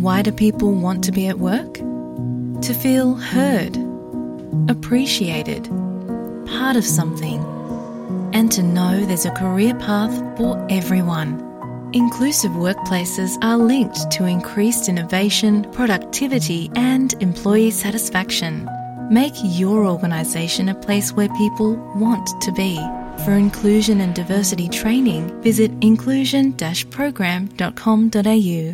Why do people want to be at work? To feel heard, appreciated, part of something, and to know there's a career path for everyone. Inclusive workplaces are linked to increased innovation, productivity, and employee satisfaction. Make your organisation a place where people want to be. For inclusion and diversity training, visit inclusion-program.com.au.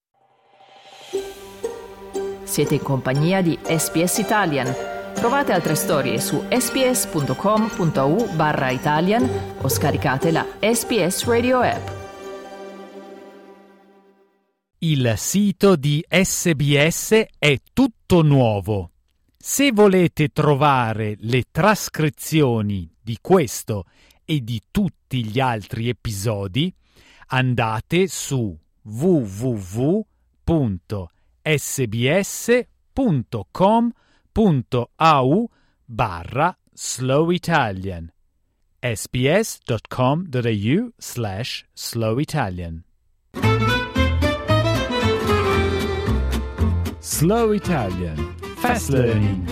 Siete in compagnia di SBS Italian. Trovate altre storie su sbs.com.au/Italian o scaricate la SBS Radio app. Il sito di SBS è tutto nuovo. Se volete trovare le trascrizioni di questo e di tutti gli altri episodi, andate su www.sbs.com.au/slowitalian sbs.com.au/slowitalian. Slow Italian. Fast Learning.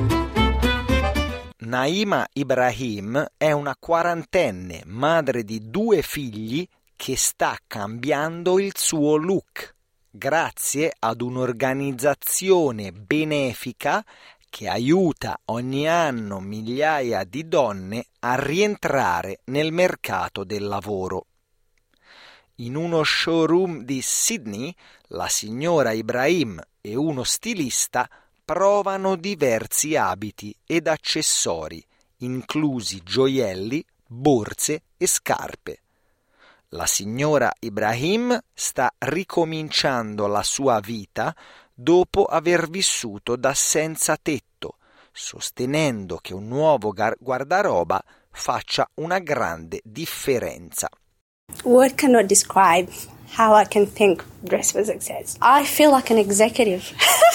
Naima Ibrahim è una quarantenne, madre di 2 figli, che sta cambiando il suo look grazie ad un'organizzazione benefica che aiuta ogni anno migliaia di donne a rientrare nel mercato del lavoro. In uno showroom di Sydney, la signora Ibrahim e uno stilista provano diversi abiti ed accessori, inclusi gioielli, borse e scarpe. La signora Ibrahim sta ricominciando la sua vita dopo aver vissuto da senza tetto, sostenendo che un nuovo guardaroba faccia una grande differenza. Word cannot describe how I can think Dress for Success. I feel like an executive.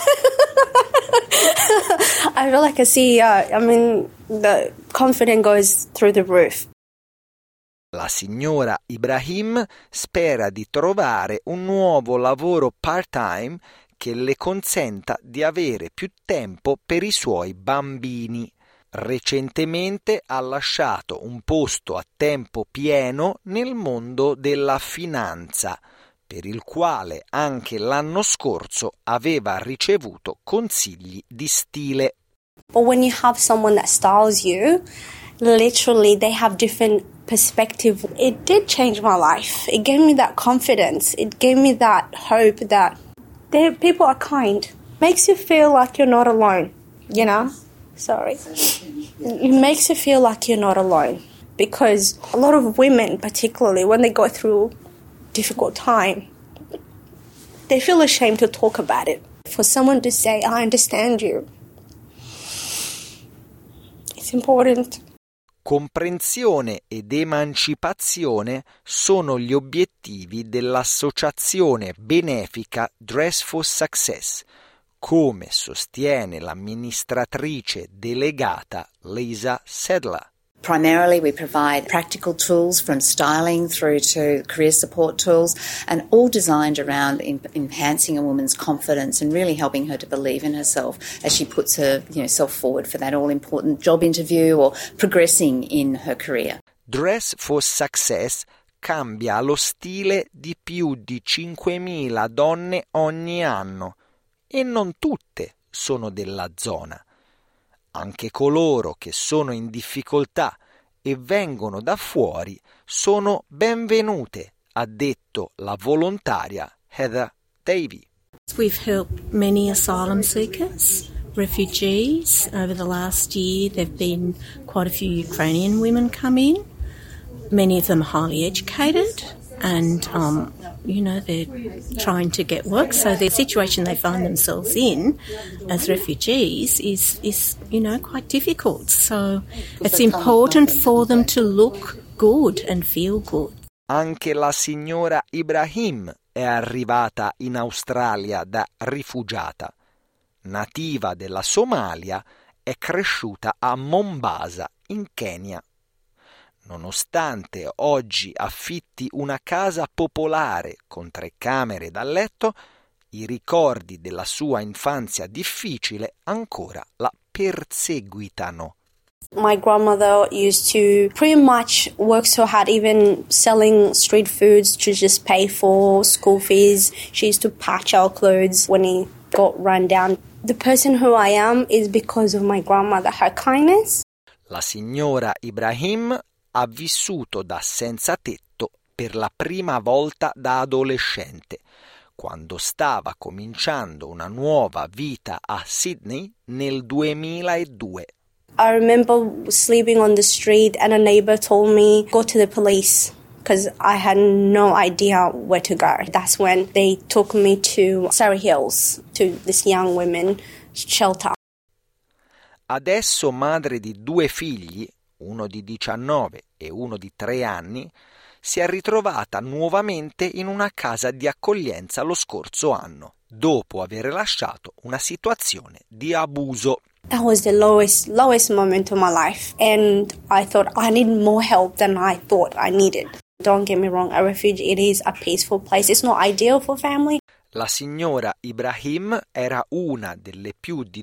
I feel like a CEO. I mean, the confidence goes through the roof. La signora Ibrahim spera di trovare un nuovo lavoro part-time che le consenta di avere più tempo per i suoi bambini. Recentemente ha lasciato un posto a tempo pieno nel mondo della finanza, per il quale anche l'anno scorso aveva ricevuto consigli di stile. But when you have someone that styles you, literally they have different perspective. It did change my life. It gave me that confidence. It gave me that hope that people are kind. Makes you feel like you're not alone, you know? Sorry. It makes you feel like you're not alone, because a lot of women, particularly when they go through difficult time, they feel ashamed to talk about it. For someone to say, I understand you, it's important. Comprensione ed emancipazione sono gli obiettivi dell'associazione benefica Dress for Success, come sostiene l'amministratrice delegata Lisa Sedler. Primarily, we provide practical tools from styling through to career support tools, and all designed around enhancing a woman's confidence and really helping her to believe in herself as she puts herself forward for that all-important job interview or progressing in her career. Dress for Success cambia lo stile di più di 5.000 donne ogni anno, e non tutte sono della zona. Anche coloro che sono in difficoltà e vengono da fuori sono benvenute, ha detto la volontaria Heather Davey. We've helped many asylum seekers, refugees. Over the last year, there have been quite a few Ukrainian women come in, many of them highly educated, and they're trying to get work. So the situation they find themselves in as refugees is quite difficult. So it's important for them to look good and feel good. Anche la signora Ibrahim è arrivata in Australia da rifugiata. Nativa della Somalia, è cresciuta a Mombasa, in Kenya. Nonostante oggi affitti una casa popolare con 3 camere da letto, I ricordi della sua infanzia difficile ancora la perseguitano. My grandmother used to pretty much work so hard, even selling street foods to just pay for school fees. She used to patch our clothes when it got run down. The person who I am is because of my grandmother, her kindness. La signora Ibrahim ha vissuto da senza tetto per la prima volta da adolescente, quando stava cominciando una nuova vita a Sydney nel 2002. I remember sleeping on the street and a neighbor told me, go to the police, because I had no idea where to go. That's when they took me to Surrey Hills, to this young women's shelter. Adesso madre di 2 figli, uno di 19 e uno di 3 anni, si è ritrovata nuovamente in una casa di accoglienza lo scorso anno, dopo aver lasciato una situazione di abuso. That was the lowest moment of my life, and I thought I need more help than I thought I needed. Don't get me wrong, a refuge, it is a peaceful place. It's not ideal for family. La signora Ibrahim era una delle più di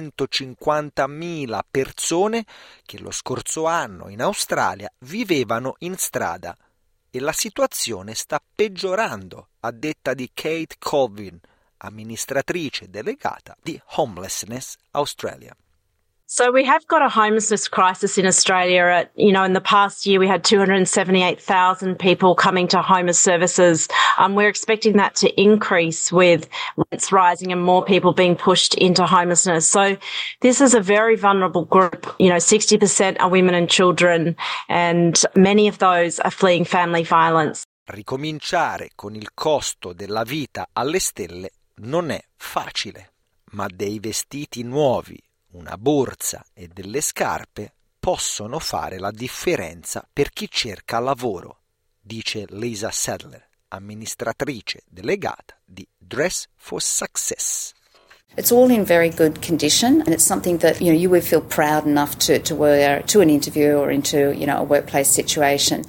250.000 persone che lo scorso anno in Australia vivevano in strada e la situazione sta peggiorando, a detta di Kate Colvin, amministratrice delegata di Homelessness Australia. So we have got a homelessness crisis in Australia. In the past year, we had 278,000 people coming to homeless services. We're expecting that to increase with rents rising and more people being pushed into homelessness. So this is a very vulnerable group. 60% are women and children, and many of those are fleeing family violence. Ricominciare con il costo della vita alle stelle non è facile, ma dei vestiti nuovi, una borsa e delle scarpe possono fare la differenza per chi cerca lavoro, dice Lisa Sadler, amministratrice delegata di Dress for Success. It's all in very good condition, and it's something that you would feel proud enough to wear to an interview or into a workplace situation.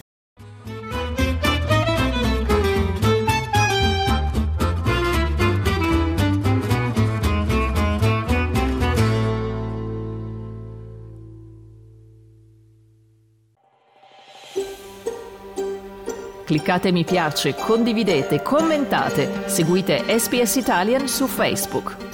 Cliccate mi piace, condividete, commentate, seguite SBS Italian su Facebook.